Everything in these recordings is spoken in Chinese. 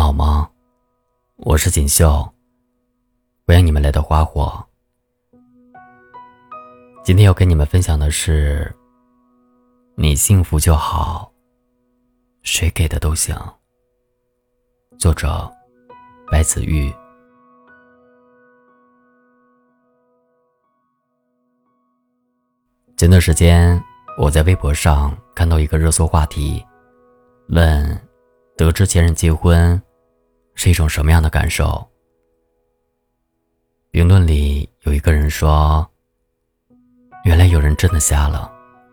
好吗？我是锦绣，欢迎你们来到花火。今天要跟你们分享的是，你幸福就好，谁给的都行。作者白子玉。前段时间我在微博上看到一个热搜话题，问得知前任结婚是一种什么样的感受。评论里有一个人说，原来有人真的瞎了。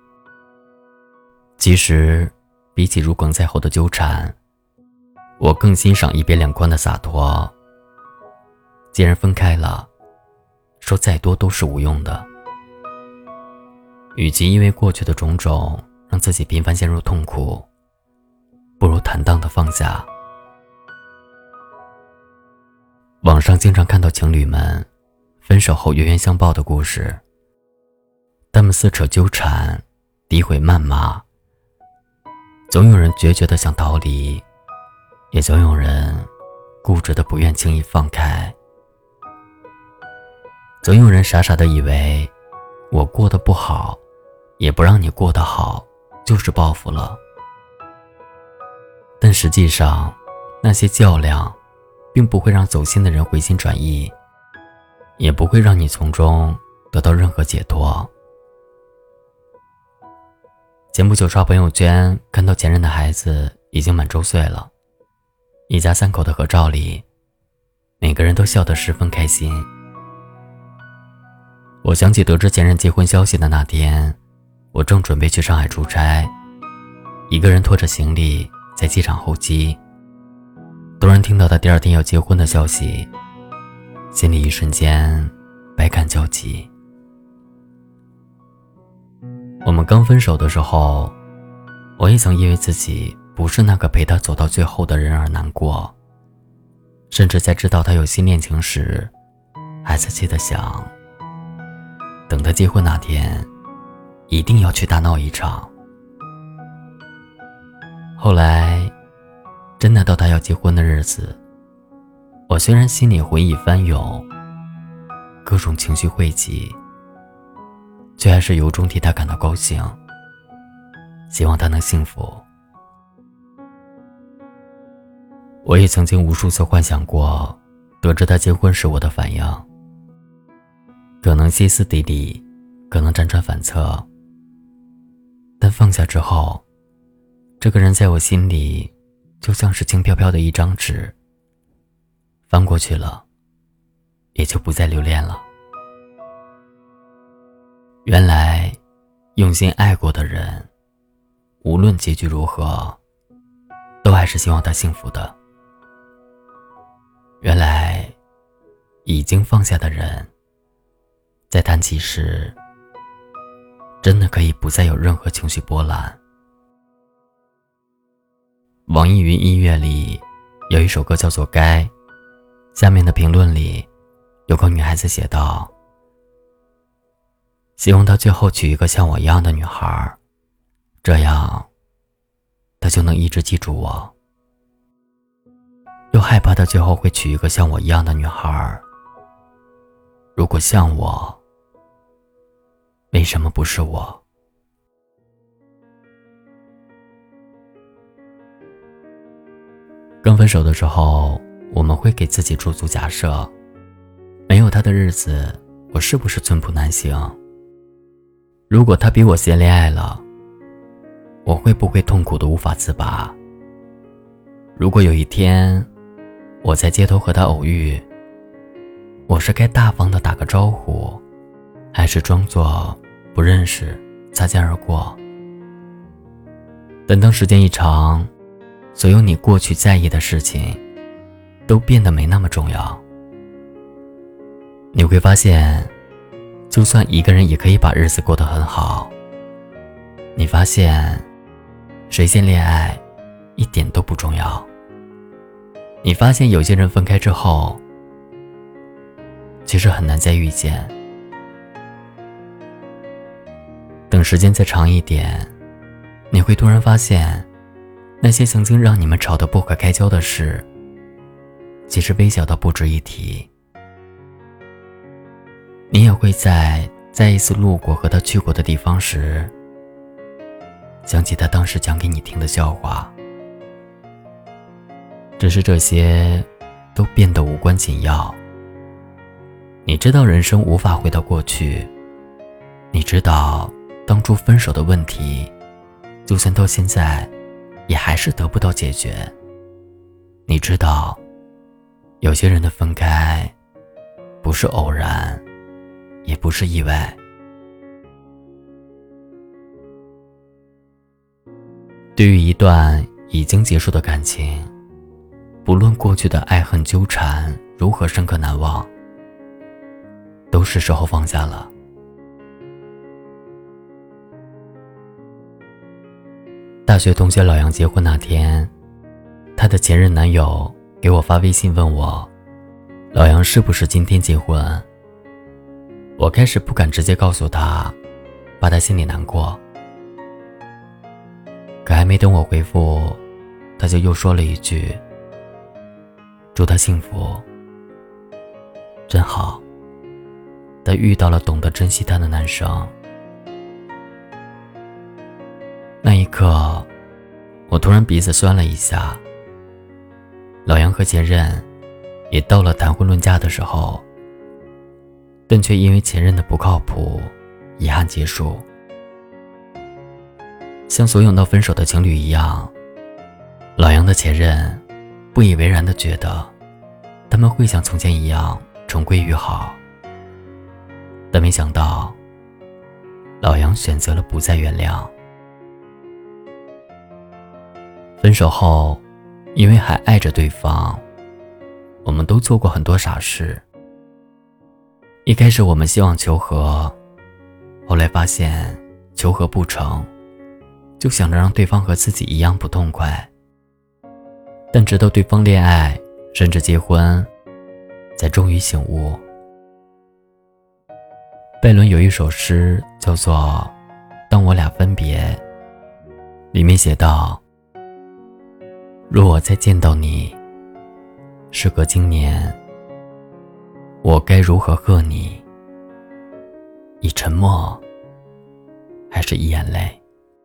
其实比起如鲠在喉的纠缠，我更欣赏一别两宽的洒脱。既然分开了，说再多都是无用的。与其因为过去的种种让自己频繁陷入痛苦，不如坦荡地放下。网上经常看到情侣们分手后冤冤相报的故事，他们撕扯纠缠，诋毁谩骂，总有人决绝地想逃离，也总有人固执地不愿轻易放开。总有人傻傻地以为我过得不好，也不让你过得好，就是报复了。但实际上，那些较量并不会让走心的人回心转意，也不会让你从中得到任何解脱。前不久刷朋友圈，看到前任的孩子已经满周岁了，一家三口的合照里，每个人都笑得十分开心。我想起得知前任结婚消息的那天，我正准备去上海出差，一个人拖着行李在机场候机，突然听到他第二天要结婚的消息，心里一瞬间百感交集。我们刚分手的时候，我也曾因为自己不是那个陪他走到最后的人而难过，甚至在知道他有新恋情时，还仔细地想，等他结婚那天一定要去大闹一场。后来真的到他要结婚的日子，我虽然心里回忆翻涌，各种情绪汇集，却还是由衷替他感到高兴，希望他能幸福。我也曾经无数次幻想过得知他结婚时我的反应，可能歇斯底里，可能辗转反侧，但放下之后，这个人在我心里就像是轻飘飘的一张纸，翻过去了，也就不再留恋了。原来用心爱过的人，无论结局如何，都还是希望他幸福的。原来已经放下的人，在谈起时真的可以不再有任何情绪波澜。网易云音乐里有一首歌叫做《该》，下面的评论里有个女孩子写道，希望他最后娶一个像我一样的女孩，这样他就能一直记住我。又害怕他最后会娶一个像我一样的女孩，如果像我，为什么不是我？刚分手的时候，我们会给自己驻足假设，没有他的日子，我是不是寸步难行？如果他比我先恋爱了，我会不会痛苦的无法自拔？如果有一天我在街头和他偶遇，我是该大方的打个招呼，还是装作不认识，擦肩而过？但当时间一长，所有你过去在意的事情都变得没那么重要。你会发现，就算一个人也可以把日子过得很好。你发现谁先恋爱一点都不重要。你发现有些人分开之后，其实很难再遇见。等时间再长一点，你会突然发现，那些曾经让你们吵得不可开交的事， 其实微小到不值一提。你也会在再一次路过和他去过的地方时，想起他当时讲给你听的笑话。只是这些都变得无关紧要。你知道人生无法回到过去，你知道当初分手的问题就算到现在也还是得不到解决。你知道有些人的分开不是偶然，也不是意外。对于一段已经结束的感情，不论过去的爱恨纠缠如何深刻难忘，都是时候放下了。大学同学老杨结婚那天，他的前任男友给我发微信问我，老杨是不是今天结婚？我开始不敢直接告诉他，怕他心里难过。可还没等我回复，他就又说了一句，祝他幸福。真好，他遇到了懂得珍惜他的男生。那一刻，我突然鼻子酸了一下。老杨和前任也到了谈婚论嫁的时候，但却因为前任的不靠谱，遗憾结束。像所有闹分手的情侣一样，老杨的前任不以为然地觉得他们会像从前一样重归于好，但没想到老杨选择了不再原谅。分手后，因为还爱着对方，我们都做过很多傻事。一开始我们希望求和，后来发现求和不成，就想着让对方和自己一样不痛快。但直到对方恋爱甚至结婚，才终于醒悟。拜伦有一首诗叫做《当我俩分别》，里面写道，若我再见到你，时隔今年，我该如何贺你？以沉默，还是以眼泪？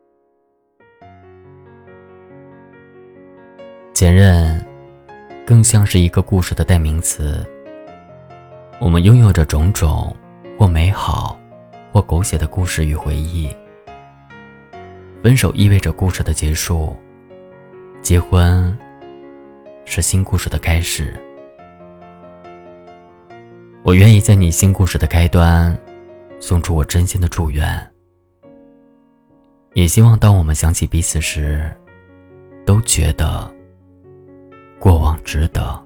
前任更像是一个故事的代名词，我们拥有着种种或美好或狗血的故事与回忆。分手意味着故事的结束，结婚是新故事的开始。我愿意在你新故事的开端送出我真心的祝愿，也希望当我们想起彼此时，都觉得过往值得。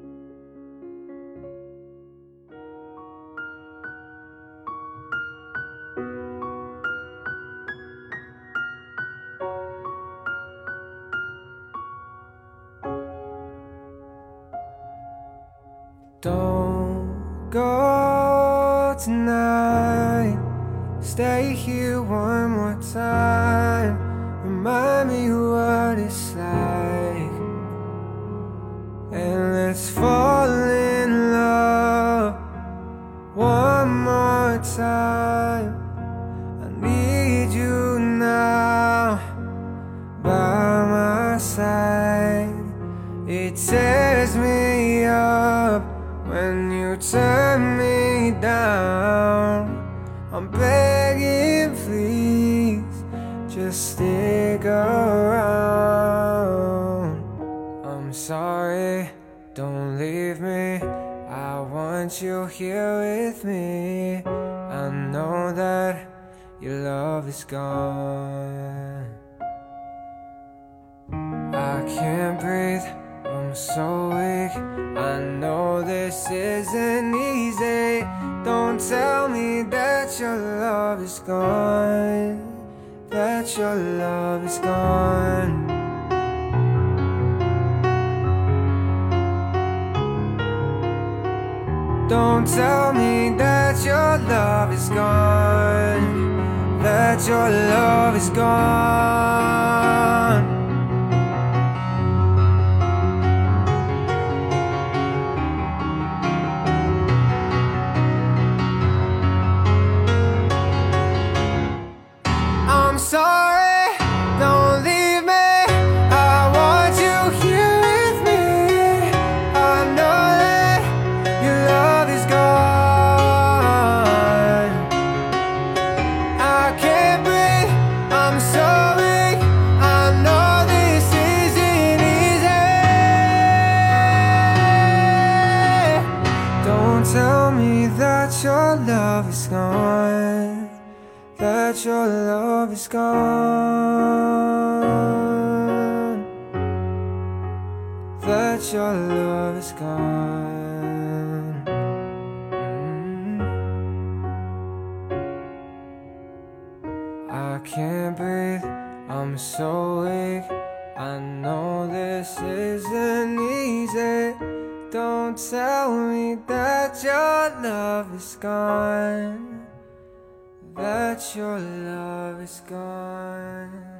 Don't go tonight, stay here one more time, remind me what it's like, and let's fall in love one more time. I need you now by my side. It tears me up when you turn me down. I'm begging, please, just stick around. I'm sorry, don't leave me, I want you here with me. I know that your love is gone. I can't breathe, I'm so weak, I know this isn't easy. Don't tell me that your love is gone, that your love is gone. Don't tell me that your love is gone, that your love is gone. that your love is gone. I can't breathe, I'm so weak. I know this isn't easy. Don't tell me that your love is gone, that your love is gone.